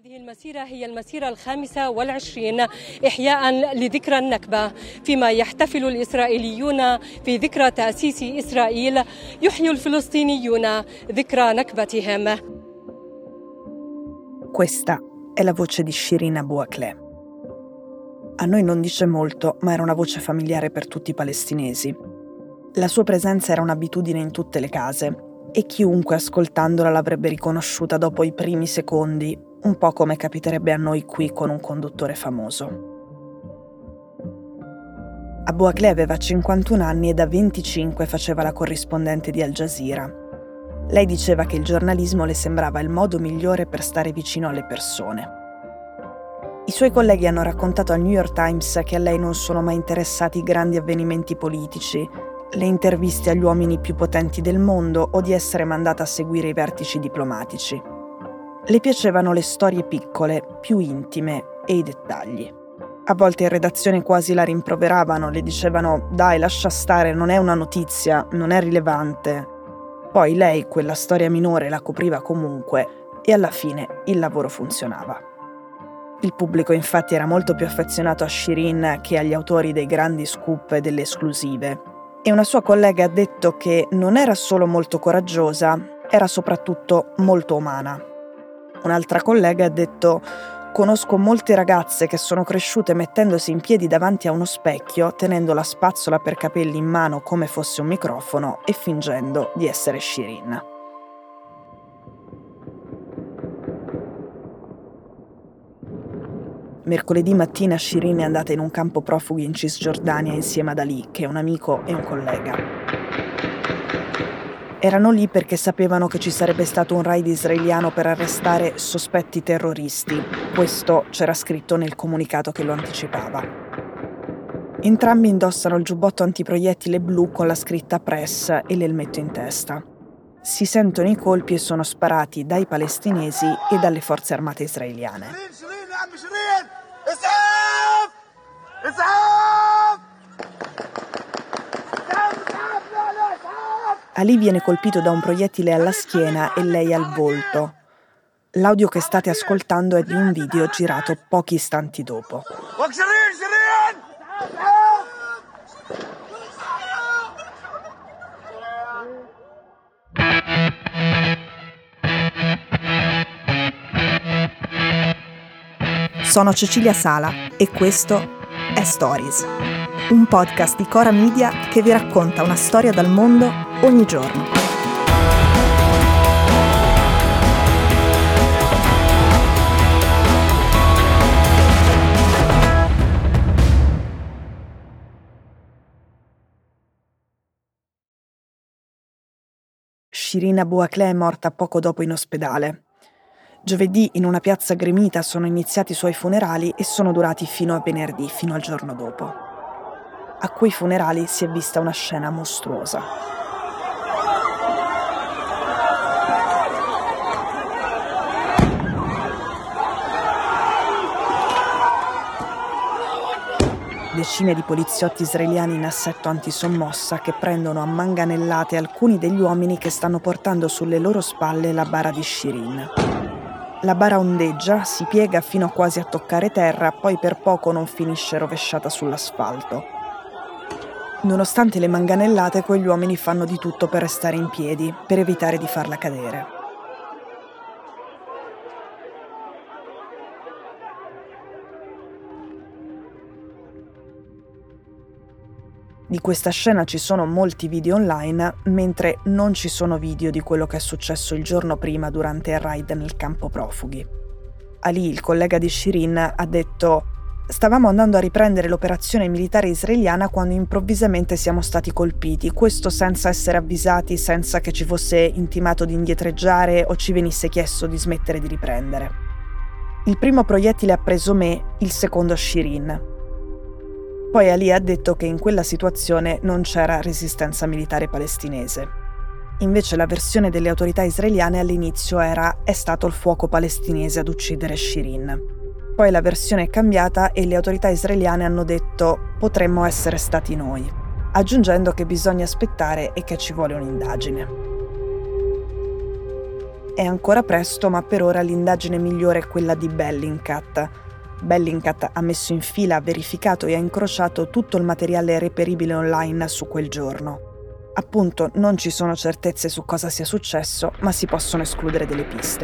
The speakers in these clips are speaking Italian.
هذه المسيرة هي المسيرة 25 إحياء لذكرى النكبة، فيما يحتفل الإسرائيليون في ذكرى تأسيس إسرائيل، يحيي الفلسطينيون ذكرى نكبتهم. Questa è la voce di Shirin Abu Akleh. A noi non dice molto, ma era una voce familiare per tutti i palestinesi. La sua presenza era un'abitudine in tutte le case e chiunque ascoltandola l'avrebbe riconosciuta dopo i primi secondi, un po' come capiterebbe a noi qui con un conduttore famoso. Abu Akleh aveva 51 anni e da 25 faceva la corrispondente di Al Jazeera. Lei diceva che il giornalismo le sembrava il modo migliore per stare vicino alle persone. I suoi colleghi hanno raccontato al New York Times che a lei non sono mai interessati i grandi avvenimenti politici, le interviste agli uomini più potenti del mondo o di essere mandata a seguire i vertici diplomatici. Le piacevano le storie piccole, più intime e i dettagli. A volte in redazione quasi la rimproveravano, le dicevano «Dai, lascia stare, non è una notizia, non è rilevante». Poi lei quella storia minore la copriva comunque e alla fine il lavoro funzionava. Il pubblico infatti era molto più affezionato a Shirin che agli autori dei grandi scoop e delle esclusive. E una sua collega ha detto che non era solo molto coraggiosa, era soprattutto molto umana. Un'altra collega ha detto «Conosco molte ragazze che sono cresciute mettendosi in piedi davanti a uno specchio, tenendo la spazzola per capelli in mano come fosse un microfono e fingendo di essere Shirin». Mercoledì mattina Shirin è andata in un campo profughi in Cisgiordania insieme ad Ali, che è un amico e un collega. Erano lì perché sapevano che ci sarebbe stato un raid israeliano per arrestare sospetti terroristi. Questo c'era scritto nel comunicato che lo anticipava. Entrambi indossano il giubbotto antiproiettile blu con la scritta Press e l'elmetto in testa. Si sentono i colpi e sono sparati dai palestinesi e dalle forze armate israeliane. Ali viene colpito da un proiettile alla schiena e lei al volto. L'audio che state ascoltando è di un video girato pochi istanti dopo. Sono Cecilia Sala e questo è Stories, un podcast di Cora Media che vi racconta una storia dal mondo ogni giorno. Shirin Abu Akleh è morta poco dopo in ospedale. Giovedì in una piazza gremita sono iniziati i suoi funerali e sono durati fino a venerdì, fino al giorno dopo. A quei funerali si è vista una scena mostruosa. Decine di poliziotti israeliani in assetto antisommossa che prendono a manganellate alcuni degli uomini che stanno portando sulle loro spalle la bara di Shirin. La bara ondeggia, si piega fino a quasi a toccare terra, poi per poco non finisce rovesciata sull'asfalto. Nonostante le manganellate, quegli uomini fanno di tutto per restare in piedi, per evitare di farla cadere. Di questa scena ci sono molti video online, mentre non ci sono video di quello che è successo il giorno prima durante il raid nel campo profughi. Ali, il collega di Shirin, ha detto «Stavamo andando a riprendere l'operazione militare israeliana quando improvvisamente siamo stati colpiti, questo senza essere avvisati, senza che ci fosse intimato di indietreggiare o ci venisse chiesto di smettere di riprendere. Il primo proiettile ha preso me, il secondo Shirin». Poi Ali ha detto che in quella situazione non c'era resistenza militare palestinese. Invece la versione delle autorità israeliane all'inizio era «è stato il fuoco palestinese ad uccidere Shirin». Poi la versione è cambiata e le autorità israeliane hanno detto «potremmo essere stati noi», aggiungendo che bisogna aspettare e che ci vuole un'indagine. È ancora presto, ma per ora l'indagine migliore è quella di Bellingcat. Bellingcat ha messo in fila, ha verificato e ha incrociato tutto il materiale reperibile online su quel giorno. Appunto, non ci sono certezze su cosa sia successo, ma si possono escludere delle piste.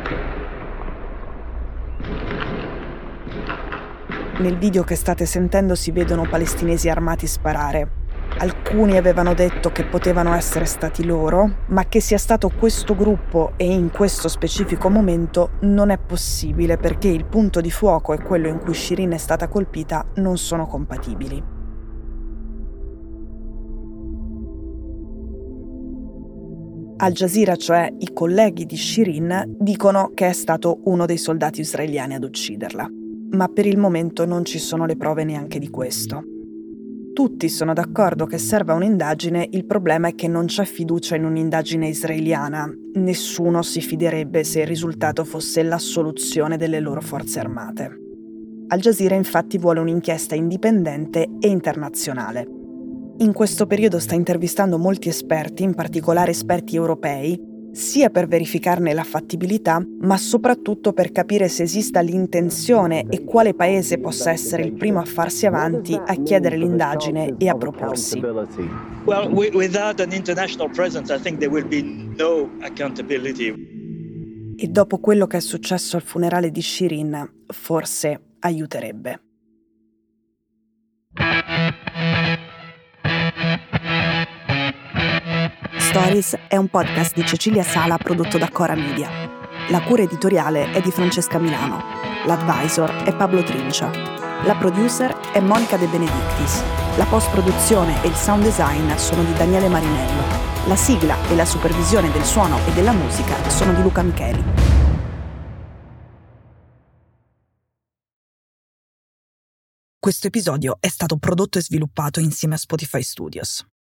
Nel video che state sentendo si vedono palestinesi armati sparare. Alcuni avevano detto che potevano essere stati loro, ma che sia stato questo gruppo e in questo specifico momento non è possibile perché il punto di fuoco e quello in cui Shireen è stata colpita non sono compatibili. Al Jazeera, cioè i colleghi di Shireen, dicono che è stato uno dei soldati israeliani ad ucciderla, ma per il momento non ci sono le prove neanche di questo. Tutti sono d'accordo che serva un'indagine, il problema è che non c'è fiducia in un'indagine israeliana. Nessuno si fiderebbe se il risultato fosse l'assoluzione delle loro forze armate. Al Jazeera infatti vuole un'inchiesta indipendente e internazionale. In questo periodo sta intervistando molti esperti, in particolare esperti europei, sia per verificarne la fattibilità, ma soprattutto per capire se esista l'intenzione e quale paese possa essere il primo a farsi avanti, a chiedere l'indagine e a proporsi. Well, without an international presence, I think there will be no accountability. E dopo quello che è successo al funerale di Shireen, forse aiuterebbe. Stories è un podcast di Cecilia Sala prodotto da Cora Media. La cura editoriale è di Francesca Milano. L'advisor è Pablo Trincia. La producer è Monica De Benedictis. La post-produzione e il sound design sono di Daniele Marinello. La sigla e la supervisione del suono e della musica sono di Luca Micheli. Questo episodio è stato prodotto e sviluppato insieme a Spotify Studios.